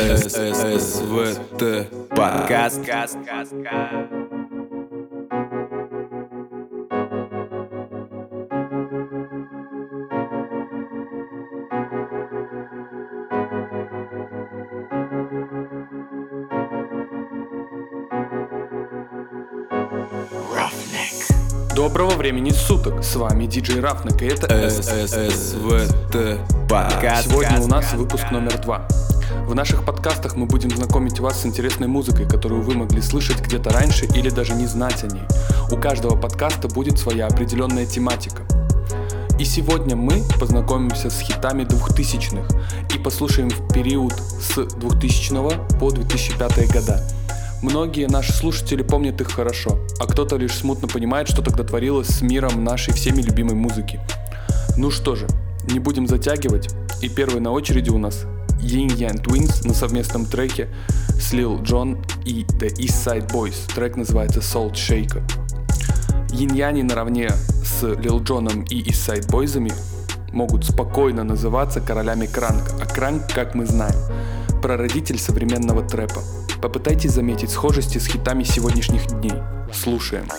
ССВТ подкаст. Доброго времени суток, с вами диджей Рафник, и это ССВТ подкаст. Сегодня у нас выпуск номер 2. В наших подкастах мы будем знакомить вас с интересной музыкой, которую вы могли слышать где-то раньше или даже не знать о ней. У каждого подкаста будет своя определенная тематика. И сегодня мы познакомимся с хитами 2000-х и послушаем в период с 2000 по 2005 года. Многие наши слушатели помнят их хорошо, а кто-то лишь смутно понимает, что тогда творилось с миром нашей всеми любимой музыки. Ну что же, не будем затягивать, и первый на очереди у нас Yin Yang Twins на совместном треке с Lil Jon и The East Side Boys. Трек называется Salt Shaker. Yin-Яни наравне с Lil Джоном и East Side Boys'ами могут спокойно называться королями кранка, а кранк, как мы знаем, прародитель современного трэпа. Попытайтесь заметить схожести с хитами сегодняшних дней. Слушаем.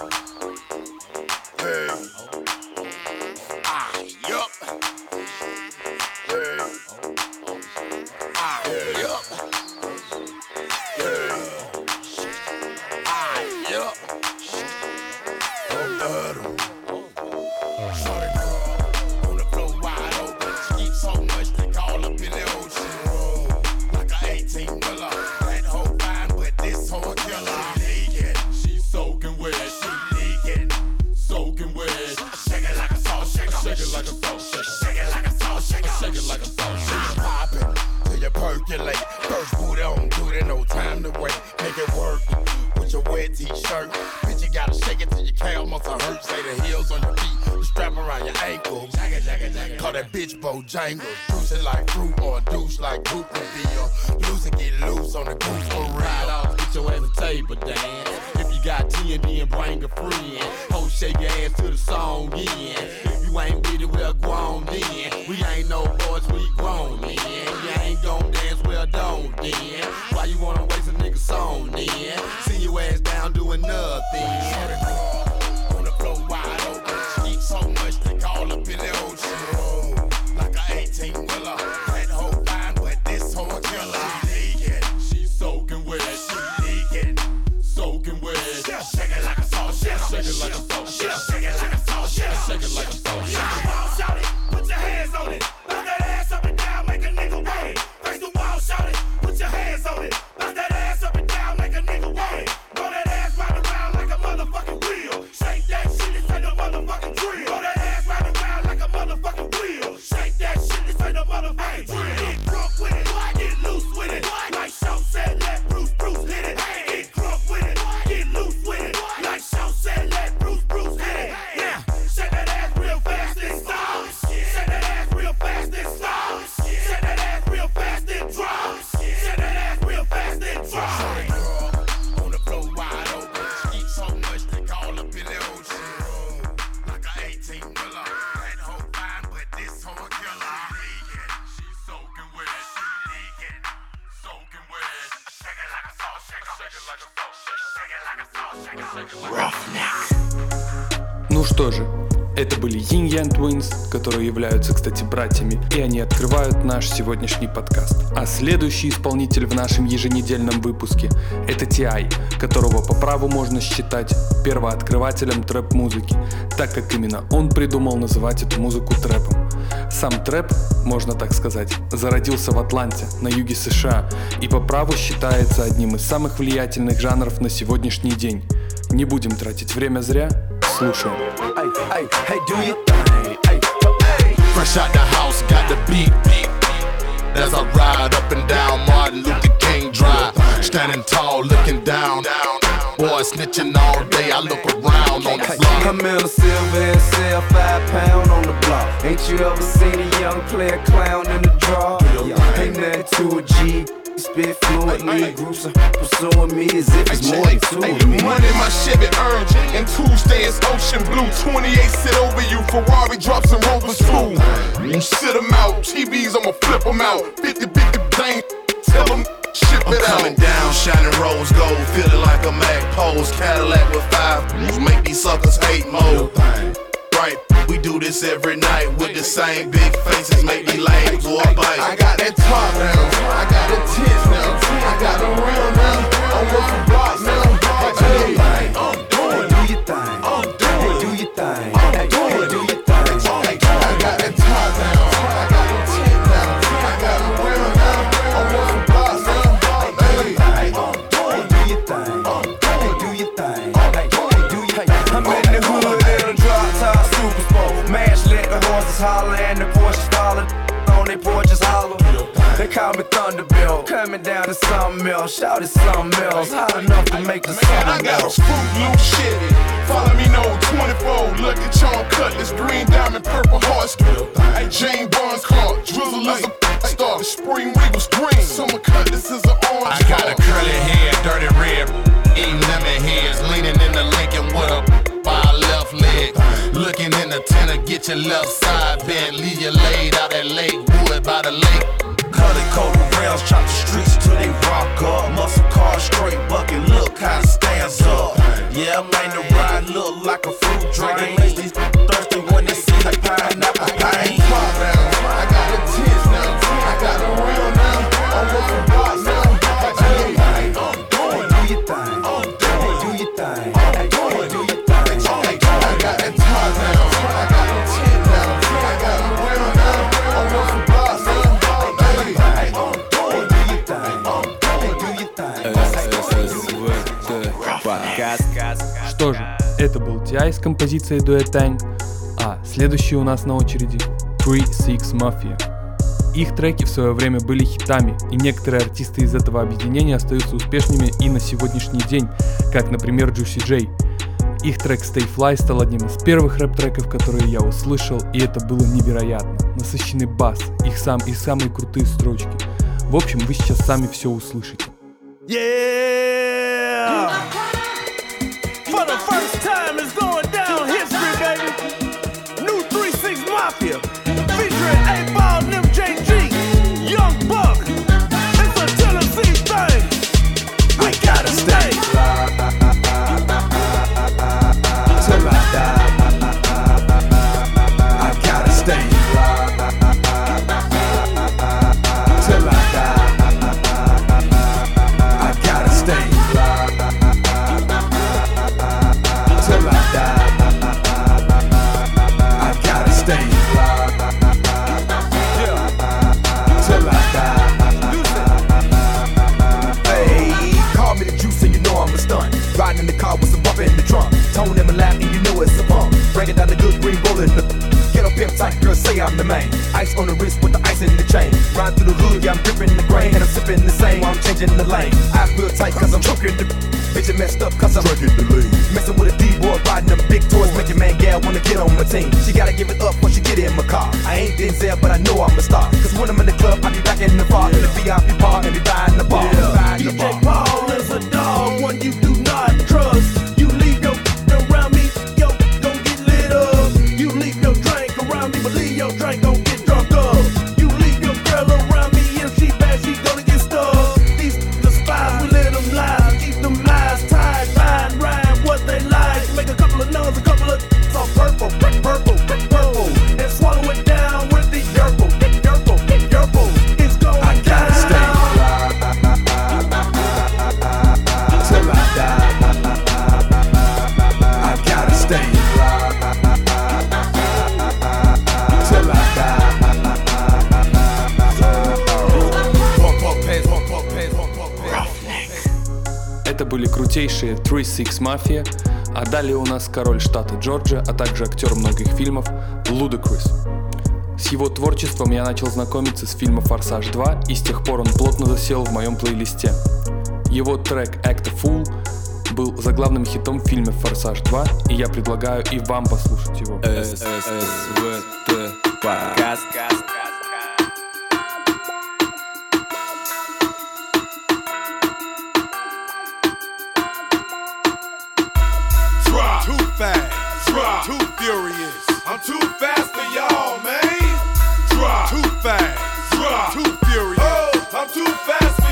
First boot on, do it, no time to wait. Make it work with your wet t-shirt. Bitch, you gotta shake it till your calf muscle hurt. Say the heels on your feet, the strap around your ankle. Call that bitch Bojangles. Juice it like fruit or a douche like Cooper Bill. Loose and get loose on the goose for real. Ride off, get your ass a table dance. If you got TND and bring a friend. Ho, shake your ass to the song in. If you ain't with it, we're grown then. We ain't no boys, we grown then. You ain't gon' dance, well don't then. Why you wanna waste a nigga song then? See your ass down doing nothing. On the floor wide open. Eat so much they call up in the ocean. Like a 18-wheeler. That hoe fine, but this hoe a killer. She leaking, she soaking wet. She leaking, soaking wet. Shake it like a salt shaker. Shake it like a salt shaker. Shake it like a salt shaker. Shake it like a salt shaker. Shout it, put your hands on it. Knock that ass up and down, make a nigga wait. Face the wall, shout it, put your hands on it. Knock that ass up and down, make a nigga wait. Roll that ass right around like a motherfucking wheel. Shake that shit, this ain't no motherfucking drill. Roll that ass right around like a motherfucking wheel. Shake that shit, this ain't no motherfucking drill. Get drunk with it, get loose with it. Like Shaw said, let Bruce hit it. Get drunk with it, get loose with it. Like Shaw said, let Bruce hit it. Yeah, shake that ass real fast and stop. Shake that ass real fast and stop. Shake that ass real fast and drop. Shake that ass real fast and drop. On the floor wide open. Eat so much they call up in the ocean. Like a 18-wheeler. That hoe fine, but this hoe a killer. She's soaking wet. She leaking, soaking wet. Shake it like a salt shaker. Shake it like a salt shaker. Shake it like a salt shaker. Shake it like a Roughneck. Ну что же, это были Yin Yang Twins, которые являются, кстати, братьями, и они открывают наш сегодняшний подкаст. А следующий исполнитель в нашем еженедельном выпуске — это T.I., которого по праву можно считать первооткрывателем трэп-музыки, так как именно он придумал называть эту музыку трэпом. Сам трэп, можно так сказать, зародился в Атланте, на юге США, и по праву считается одним из самых влиятельных жанров на сегодняшний день. Не будем тратить время зря, слушаем. Hey, do your thing. Hey. Fresh out the house, got the beat. As I ride up and down Martin Luther King Drive, standing tall, looking down. Boy snitching all day, I look around on the block. I'm in a silver and sell 5 pound on the block. Ain't you ever seen a young player clown in the draw? Ain't nothing to a G. Spit fluently, groups are pursuing me as if it's more than two of me. Money my Chevy earned, and Tuesday is ocean blue. 28 sit over you, Ferrari drops and Rovers too. You sit them out, TVs I'ma flip them out. 50 bang, tell them ship it out. Coming down, shining rose gold, feeling like a Mac pose. Cadillac with 5 wheels, make these suckers hate mode. Right, we do this every night with the same big faces, make these lame boy bite. I got that top now, I got the tits now, I got the real now, I'm working blocks now. Hey, I'm doing, do your thing, I'm doing, do your thing, I'm doing, do your thing. I got that top now, I got the tits now, I got the real now, I'm working blocks now. Hey, I'm doing, Do your thing, do your thing, do your thing. I'm in the hood in a drop top super sport. Mash let the horses holler and the Porsches follow. On they porches hollow. They call me Thunderbolt. Coming down to something else. Shout it something else. Hot enough to make the sun I got a melt. Fruit Loop Chevy. Follow me no 24. Lucky Charm Cutlass, green diamond, purple hearts. Hey, Jane Barnes Clark, Drizzle is a star. The Spring Regal's green, Summer Cutlass is an orange. I got a curly hair, dirty red, eating lemon heads, leaning in the Lincoln with a by left leg. Looking in the tenor, get your left side bent, leave you laid out at Lake Wood by the lake. Colored coat rails, chop the streets till they rock up. Muscle car, straight bucket, look how it stands up. Yeah, man, the ride look like a fruit drink. It makes these thirsty when they see the pineapple pain. I got the tits now, I got the real now, I'm working blocks now. Hey, I'm doing, Do your thing, do your thing, do your thing. I got that top now, I got the tits now, I got the real now, I'm working blocks now. Hey, I'm doing, Do your thing, do your thing. Подкаст. Что же, это был T.I. с композицией Duet Tang, а следующий у нас на очереди 3-6 Mafia. Их треки в свое время были хитами, и некоторые артисты из этого объединения остаются успешными и на сегодняшний день, как, например, Juicy J. Их трек Stay Fly стал одним из первых рэп-треков, которые я услышал, и это было невероятно. Насыщенный бас, их самые крутые строчки. В общем, вы сейчас сами все услышите. Yeah! For the first time it's going down history, baby. New 3-6 Mafia, featuring 8Ball and MJG, Young Buck. It's a Tennessee thing. We gotta stay. Till I die, I gotta stay. Till I die, I gotta stay. Till I die, I gotta stay. Till I die. Hey, call me the juice and you know I'm a stunt. Riding in the car with some bump in the trunk. Tone in my lap and you know it's a bump. Breaking down the good green rollin' the get up pimp tight, girl say I'm the main. Ice on the wrist with the ice in the chain. Ride through the hood, yeah I'm gripping the grain. And I'm sipping the same while I'm changing the lane. I feel tight cause I'm choking the bitch and messed up cause I'm drinking the lean. Messing with a D-boy, riding them big toys. Make your man gal wanna get on my team. She gotta give it up when she get in my car. I ain't Denzel but I know I'm a star. Cause when I'm in the club I be back in the bar. In the VIP bar and be buying the bar. DJ Paul is a dog, one you do not trust. You leave your around me, yo, gon' get lit up. You leave your drink around me, but leave your drink gon' get drunk up. You leave your girl around me, if she bad, she gonna get stuck. These the spies, we let them lie, keep them eyes tied, fine, rhyme what they like. Make a couple of nuns, a couple of all purple, purple, purple, and swallow it down with the yerple, yerple, yerple. It's going I gotta down. stay. Till I die, I gotta stay. Till I die. Это были крутейшие 3-6 Mafia, а далее у нас король штата Джорджия, а также актер многих фильмов Ludacris. С его творчеством я начал знакомиться с фильма «Форсаж 2», и с тех пор он плотно засел в моем плейлисте. Его трек «Act a Fool» был заглавным хитом в фильме «Форсаж 2», и я предлагаю и вам послушать его. СВТ Подкаст. Drop. Too fast. Drop. Too furious. I'm too fast for y'all, man. Drop. Too fast. Drop. Too furious. Oh, I'm too fast for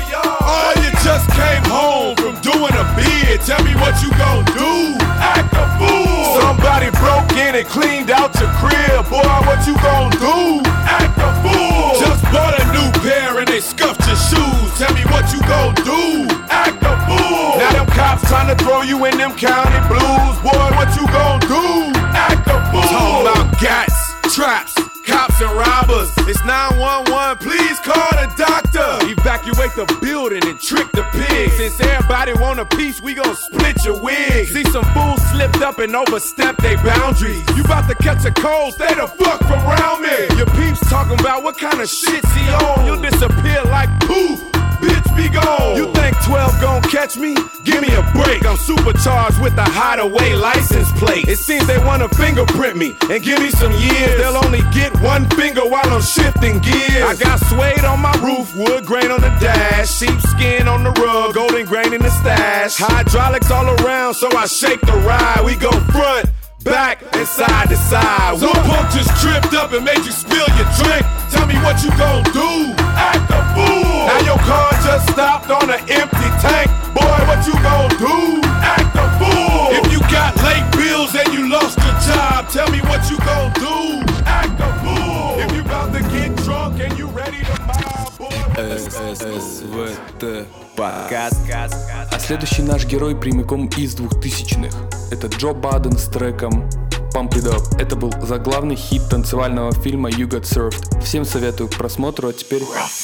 what you gon' do? Act a fool. Somebody broke in and cleaned out your crib. Boy, what you gon' do? Act a fool. Just bought a new pair and they scuffed your shoes. Tell me what you gon' do? Act a fool. Now them cops tryna throw you in them county blues. Boy, what you gon' do? Act a fool. Talking about gats, traps, cops and robbers. It's 911, please call the doctor. Evacuate the building and trick the pigs. Since everybody want a piece, we gon' split your wig. See some fools slipped up and overstepped their boundaries. You bout to catch a cold, stay the fuck from around me. Your peeps talking about what kind of shit's he on. You'll disappear like poof. Bitch, be gone. You think 12 gon' catch me? Give me a break. I'm supercharged with a hideaway license plate. It seems they wanna fingerprint me and give me some years. They'll only get one finger while I'm shifting gears. I got suede on my roof, wood grain on the dash, sheepskin on the rug, golden grain in the stash. Hydraulics all around, so I shake the ride. We go front, back, and side to side. Some punk just tripped up and made you spill your drink. Tell me what you gon' do? Act a fool. Now your car just stopped on an empty tank. Boy, what you gon' do? Act a fool. If you got late bills and you lost your job, tell me what you gon' do? Act a fool. If you about to get drunk and you ready to mob, boy. СВТ подкаст. А следующий наш герой прямиком из 2000-х. Это Джо Баден с треком Pump It Up. Это был заглавный хит танцевального фильма You Got Served. Всем советую к просмотру, а теперь...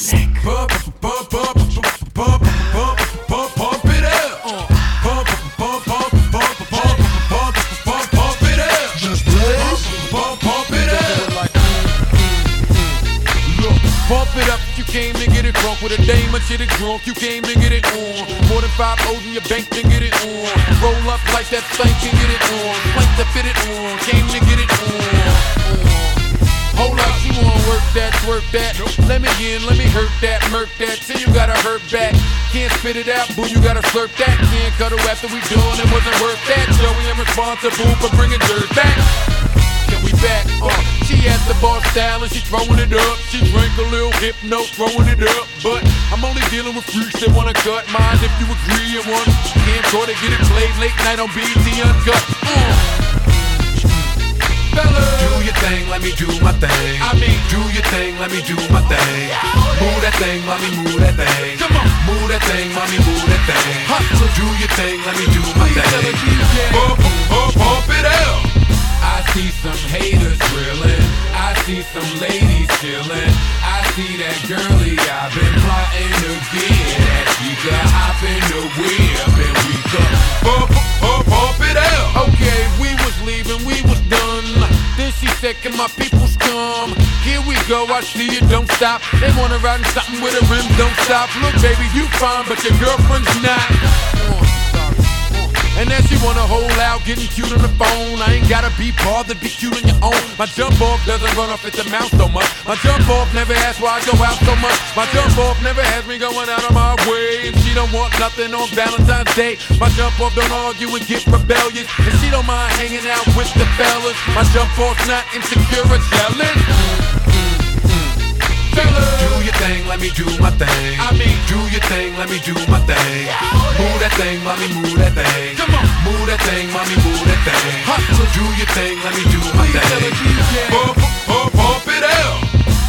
Pump it up, you came to get it drunk with a dame and shit is drunk, you came to get it on. More than 5 O's in your bank to get it on. Roll up like that thing can get it on. Plank to fit it on, came to get it on. Hold up, you wanna work that, twerk that. Let me in, let me hurt that, murk that. Till you gotta hurt back. Can't spit it out, boo, you gotta slurp that. Can't cut her after we done, it wasn't worth that. Joey, I'm responsible for bringing dirt back. Can we back? She at the bar style and she throwing it up. She drank a little Hypno, throwing it up. But I'm only dealing with freaks that wanna cut mine. If you agree and want camcorder, get it played late night on BET Uncut. Fellas, do your thing, let me do my thing. I mean, do your thing, let me do my thing. Move that thing, mommy, move that thing. Come on, move that thing, mommy, move that thing. Hustle, do your thing, let me do my thing. Pump it up. I see some haters drilling, I see some ladies chilling, I see that girlie I've been plotting to get that she could hop in the whip and we could pump it out. Okay, we was leaving, we was done. Then she said, can my peoples come? Here we go, I see you, don't stop. They wanna ride in something with a rim, don't stop. Look baby, you fine, but your girlfriend's not. And then she wanna hold out, getting cute on the phone. I ain't gotta be bothered, be cute on your own. My jump off doesn't run off at the mouth so much. My jump off never asks why I go out so much. My jump off never has me going out of my way. And she don't want nothing on Valentine's Day. My jump off don't argue and get rebellious. And she don't mind hanging out with the fellas. My jump off's not insecure or jealous. Do your thing, let me do my thing. I mean, do your thing, let me do my thing. Move that thing, mommy, move that thing. Come on, move that thing, mommy, move that thing. Hustle, do your thing, let me do my thing. Pump it out.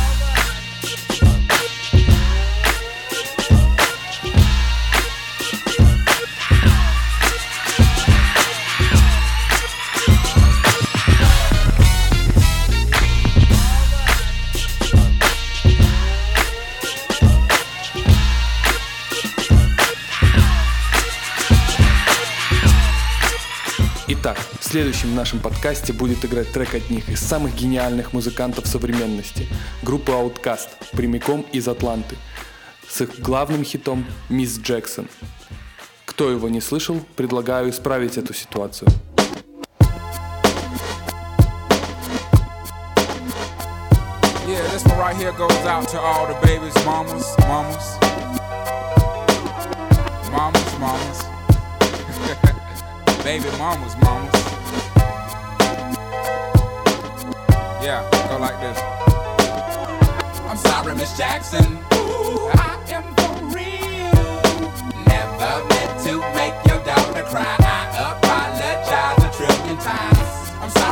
Итак, в следующем нашем подкасте будет играть трек одних из самых гениальных музыкантов современности, группы Outkast, прямиком из Атланты, с их главным хитом «Miss Jackson». Кто его не слышал, предлагаю исправить эту ситуацию. Yeah, this one right here goes out to all the babies, mamas. Baby mamas. Yeah, go like this. I'm sorry, Miss Jackson. Ooh, I am for real. Never meant to make your daughter cry. I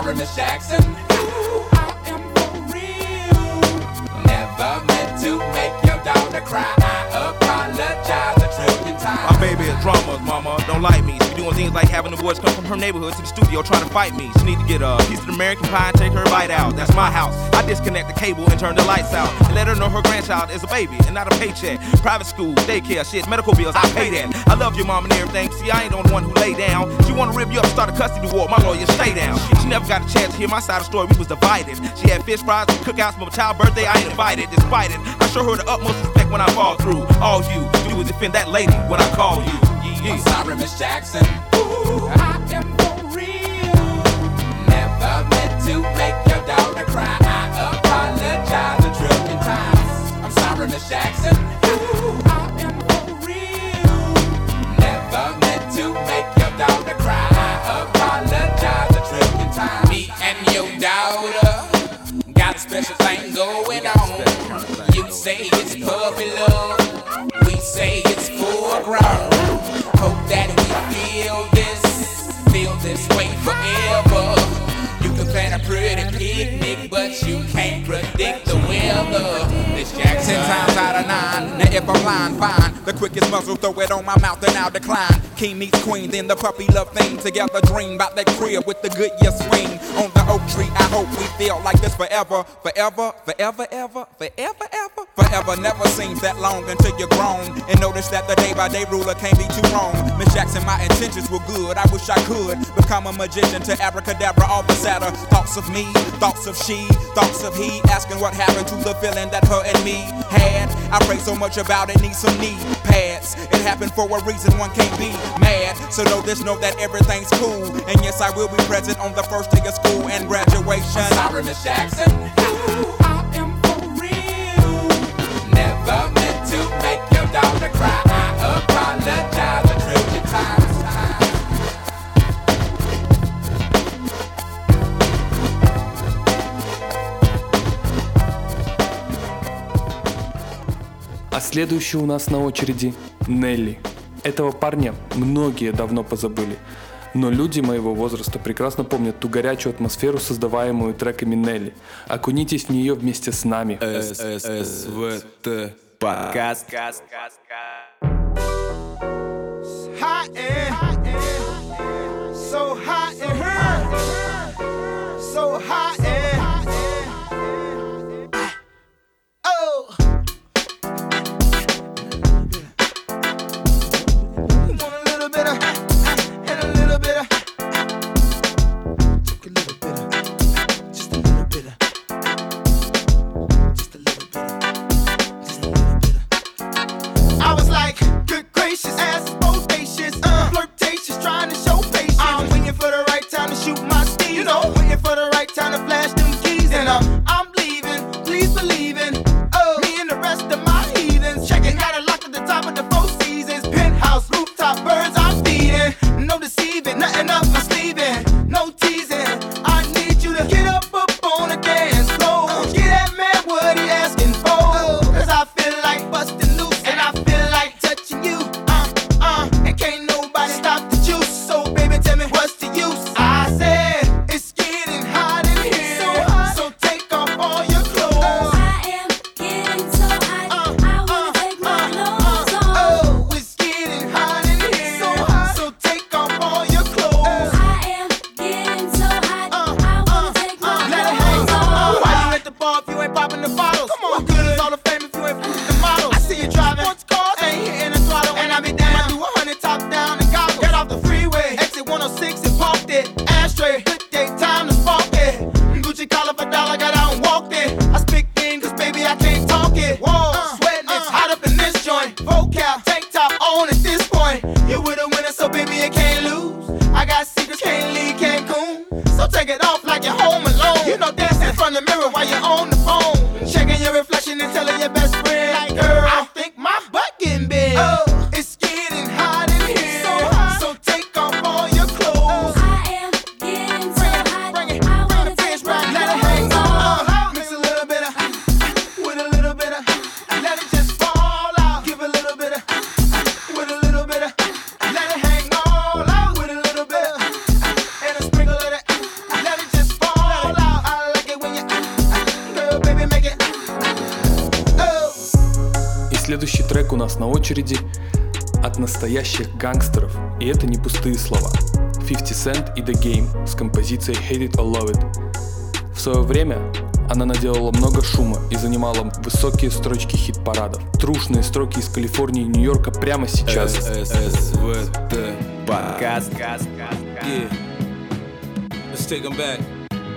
sorry, Miss Jackson. Ooh, I am for real. Never meant to make your daughter cry. I apologize a trillion times. My baby is drama, mama, don't like me. She doing things like having the boys come from her neighborhood to the studio trying to fight me. She need to get a piece of American pie and take her bite out. That's my house. I disconnect the cable and turn the lights out and let her know her grandchild is a baby and not a paycheck. Private school, daycare, shit, medical bills, I pay that. I love your mom and everything. See, I ain't the only one who lay down. She wanna rip you up and start a custody war. My lawyer, stay down. She never got a chance to hear my side of the story. We was divided. She had fish fries and cookouts for my child's birthday. I ain't invited. Despite it, I show her the utmost respect when I fall through. All you do is defend that lady when I call you. I'm sorry, Miss Jackson. Ooh, I am for real. Never meant to make your daughter cry. I apologize a trillion times. I'm sorry, Miss Jackson. Ooh, I am for real. Never meant to make your daughter cry. I apologize a trillion times. Me and your daughter got a special thing going on. You say it's puppy love. We say it's full grown. Hope that we feel this way forever. You can plan a pretty picnic, but you can't predict the weather. Miss Jackson. 10 times out of 9. Now if I'm lying, fine. The quickest muzzle, throw it on my mouth and I'll decline. King meets queen, then the puppy love thing. Together dream about that crib with the good year swing. On the oak tree, I hope we feel like this forever. Forever, forever, ever, forever, ever. Forever never seems that long until you're grown. And notice that the day-by-day ruler can't be too wrong. Miss Jackson, my intentions were good. I wish I could become a magician to abracadabra all the sadder. Thoughts of me, thoughts of she, thoughts of he. Asking what happened to the feeling that her and me had. I pray so much about it, need some knee pads. It happened for a reason, one can't be mad. So know this, know that everything's cool. And yes, I will be present on the first day of school and graduation. I'm sorry, Miss Jackson. Ooh, I am for real. Never meant to make your daughter cry. I apologize a trillion times. А следующий у нас на очереди Нелли. Этого парня многие давно позабыли, но люди моего возраста прекрасно помнят ту горячую атмосферу, создаваемую треками Нелли. Окунитесь в нее вместе с нами. СВТ подкаст. Hot and so hot in her, so hot and oh. You want a little bit of and a little bit of, took a little bit of, just a little bit of, just a little bit of, just a little bit of. I was like, good gracious, ass bodacious, flirtatious, trying to show patience. I'm waiting for the right time to shoot my steam, you know, waiting for the right time to flash them keys. And I'm leaving, please believe in me and the rest of my heathens. Checking out a lock at the top of the Four Seasons, penthouse, rooftop, birds I'm feeding. No deceiving, nothing up my sleeving, no teasing. I need you to get up on the dance floor. Get that man what he asking for. Cause I feel like busting loose and I feel like touching you. And can't nobody stop the juice. So baby, tell me what's the use? I said it's getting hot in here, so hot. So take off all your clothes. I am getting so hot, I wanna take my clothes off. Oh, it's getting hot in here, so hot. So take off all your clothes. I am getting so hot, I wanna take my Let it hang clothes off. Why you at the bar if you ain't popping the bottles? Come on, what good is all the fame if you ain't fooling the models? I see you driving sports cars, ain't hitting the throttle, and I be damn. I do 100 top down and goggles. Get off the freeway, exit 106 and parked it. Ashtray, good day, time to spark it. Gucci collar for dollar, got out and walked it. I speak in, cause baby I can't talk it. Whoa, sweating, it's hot up in this joint. Vocab, tank top on at this point. You with a winner, so baby you can't lose. I got secrets, can't leave Cancun. So take it off like you're home alone. You know dancing in front of the mirror while you're on the phone. Checking your reflection and telling your best friend, like, girl, I think my butt следующий трек у нас на очереди от настоящих гангстеров, и это не пустые слова. 50 Cent и The Game с композицией Hate It or Love It. В свое время она наделала много шума и занимала высокие строчки хит-парадов. Трушные строки из Калифорнии и Нью-Йорка прямо сейчас. СВТ подкаст. Yeah. Let's take them back.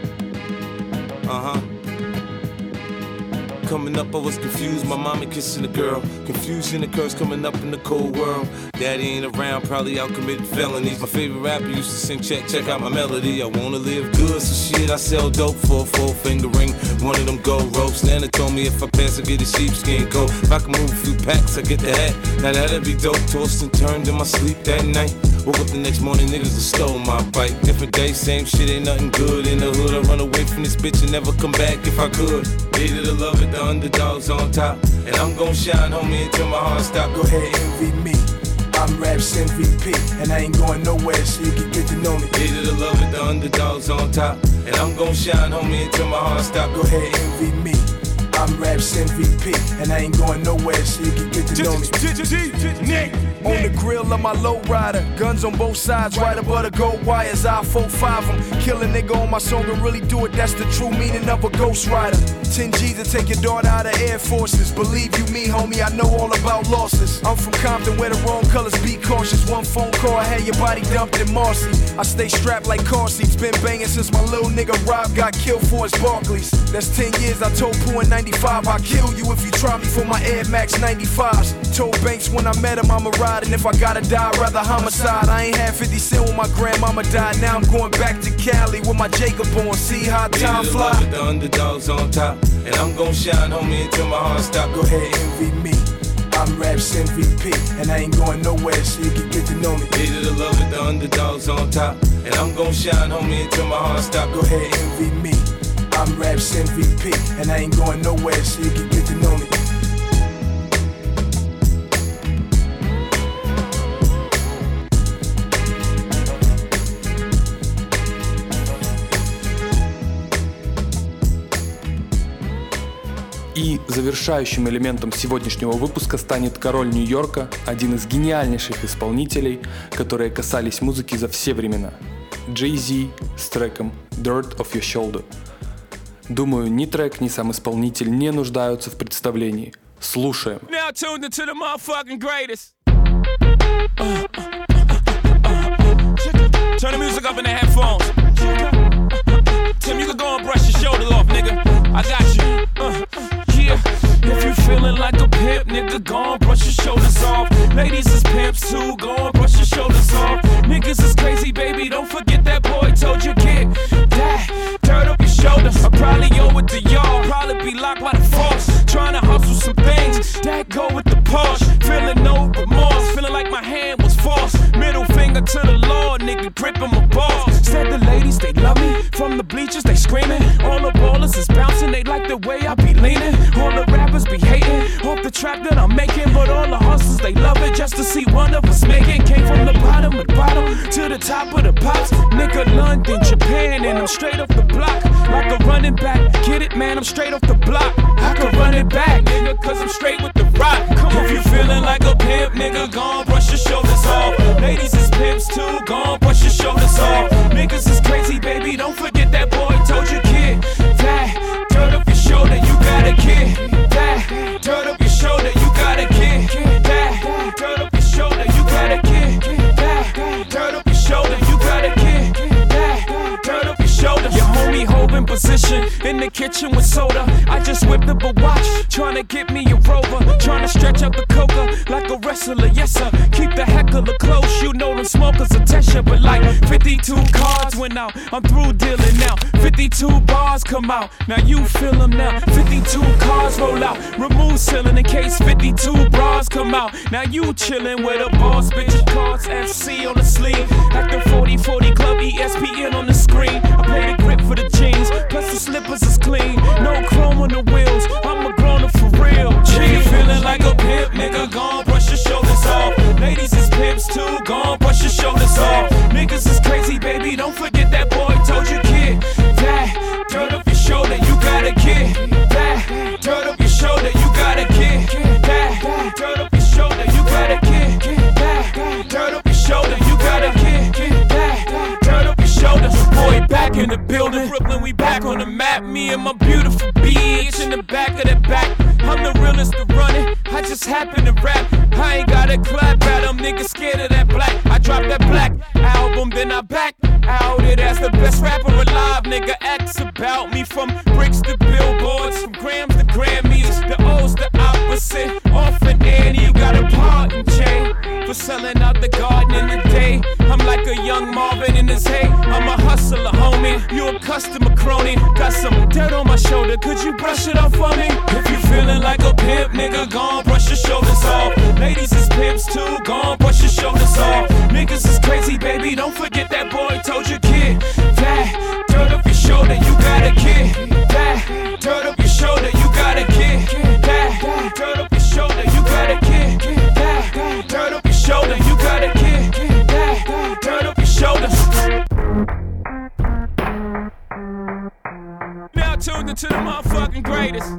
Coming up, I was confused. My mommy kissing a girl. Confusion occurs coming up in the cold world. Daddy ain't around, probably out committing felonies. My favorite rapper used to sing, check out my melody. I wanna live good, so shit, I sell dope for a 4-finger ring. One of them gold ropes. Nana told me if I pass, I get a sheepskin coat. If I can move a few packs, I get the hat. Now that'd be dope. Tossed and turned in my sleep that night. Woke up the next morning, niggas have stole my bike. Different day, same shit, ain't nothing good. In the hood, I run away from this bitch and never come back if I could. Hated to love it, the underdogs on top. And I'm gon' shine, homie, until my heart stop. Go ahead, envy me. I'm Raps MVP, and I ain't going nowhere, so you can get to know me. Hated to love it, the underdogs on top. And I'm gon' shine, homie, until my heart stop. Go ahead, envy me. I'm Raps MVP, and I ain't going nowhere, so you can get to know me. On the grill of my lowrider, guns on both sides, right above the gold wires. I 4-5 them, kill a nigga on my song and really do it. That's the true meaning of a ghost rider. 10 G's to take your daughter out of Air Forces. Believe you me, homie, I know all about losses. I'm from Compton where the wrong colors be cautious. One phone call, I had your body dumped in Marcy. I stay strapped like car seats, been banging since my little nigga Rob got killed for his Barclays. That's 10 years, I told Pooh in 95, I'll kill you if you try me for my Air Max 95s. Told Banks when I met him I'ma ride, and if I gotta die, rather homicide. I ain't had 50 cent when my grandmama died. Now I'm going back to Cali with my Jacob on. See how time fly. The underdogs on top, and I'm gon' shine, homie, until my heart stop. Go ahead, envy me. I'm Raps MVP, and I ain't going nowhere, so you can get to know me. Hated to love it, the underdogs on top, and I'm gon' shine, homie, until my heart stop. Go ahead, envy me. I'm Raps MVP, and I ain't going nowhere, so you can get to know me. И завершающим элементом сегодняшнего выпуска станет король Нью-Йорка, один из гениальнейших исполнителей, которые касались музыки за все времена. Jay-Z с треком Dirt Off Your Shoulder. Думаю, ни трек, ни сам исполнитель не нуждаются в представлении. Слушаем. Now tuned into the motherfucking greatest. Turn the music up in the headphones. Tim, you can go and brush your shoulders off, nigga. I got you. Yeah. If you feeling like a pimp, nigga, go and brush your shoulders off. Ladies is pimps too, go and brush your shoulders off. Niggas is crazy, baby, don't forget that boy told you get that dirt up your shoulders. I probably owe it to y'all, probably be locked by the force. Trying to hustle some things that go with the Porsche. Feeling no remorse, feeling like my hand was forced. Middle finger to the Lord, nigga, gripping my balls. Said the ladies, they love me. From the bleachers, they screaming. All the ballers is bouncing, they like the way I be leaning. All the rappers be hating off the trap that I'm making, but all the hustlers, they love it just to see one of us making. Came from the bottom of the bottom to the top of the pops. Nigga, London, Japan, and I'm straight off the block. Like a running back, get it, man, I'm straight off the block. I can run it back, nigga, cause I'm straight with the rock. Come on, if you feeling like a pimp, nigga, gon' brush your shoulders off. Ladies is pimps too, gon' brush your shoulders off. Niggas is crazy, baby, don't forget that boy told you, kid. That dirt up your shoulder, you got a kid. That dirt up your shoulder, you got a kid. That dirt up your shoulder, you got a kid. That dirt up your shoulder, you got a kid. That dirt up your shoulder. Your homie holding position in the kitchen with soda. I just whipped up a watch, tryna get me a Rover. Tryna stretch out the coca like a wrestler, yes sir. Keep the heckler close, you know them smokers attention. But like 52 cards went out, I'm through dealing now. 52 bars come out, now you feel them now. 52 cars roll out, remove ceiling in case 52 bras come out. Now you chillin' with a boss, bitch, cards FC on the sleeve. Like the 40-40 club, ESPN on the screen. I play the grip for the jeans, plus the slippers is clean. No chrome on the wheels, I'm a grown-up for real. G feeling like a pimp, nigga, gon' brush your shoulders off. Ladies is pimps too, gon' brush your shoulders off. Niggas is crazy, baby, don't forget that boy told you, kid. That dirt up your shoulder, you got a kid. That dirt up your shoulder, you got a kid. That me and my beautiful bitch in the back of the back. I'm the realest to run it, I just happen to rap. I ain't got a clap at them, niggas scared of that black. I dropped that black album, then I back out it as the best rapper alive. Nigga, X about me from bricks to billboards, from grams to Grammys. The O's the opposite, orphan Annie, you got a pardon chain for selling out the garden in the day. I'm like a young Marvin in his hay. I'm a hustler, homie. You a customer crony. Got some dirt on my shoulder. Could you brush it off for me? If you feeling like a pimp, nigga, gon' brush your shoulders off. Ladies is pimps too. Gon' brush your shoulders off. Niggas is crazy, baby. Don't forget that boy told you, kid. That dirt up your shoulder, you got a kid. That dirt up your shoulder, you got a kid. That dirt up your shoulder, you got a kid. That dirt up your shoulder, you got a kid. That dirt up your shoulders. Now tuned into the motherfucking greatest.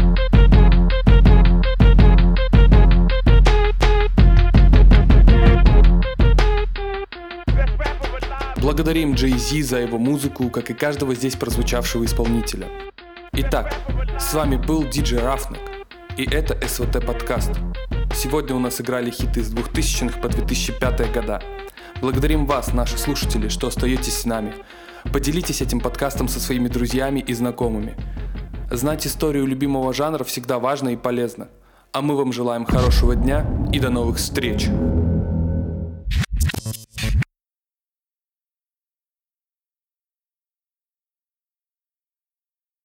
Благодарим Jay-Z за его музыку, как и каждого здесь прозвучавшего исполнителя. Итак, с вами был DJ Roughneck, и это СВТ подкаст. Сегодня у нас играли хиты с 2000-х по 2005 года. Благодарим вас, наши слушатели, что остаетесь с нами. Поделитесь этим подкастом со своими друзьями и знакомыми. Знать историю любимого жанра всегда важно и полезно. А мы вам желаем хорошего дня и до новых встреч!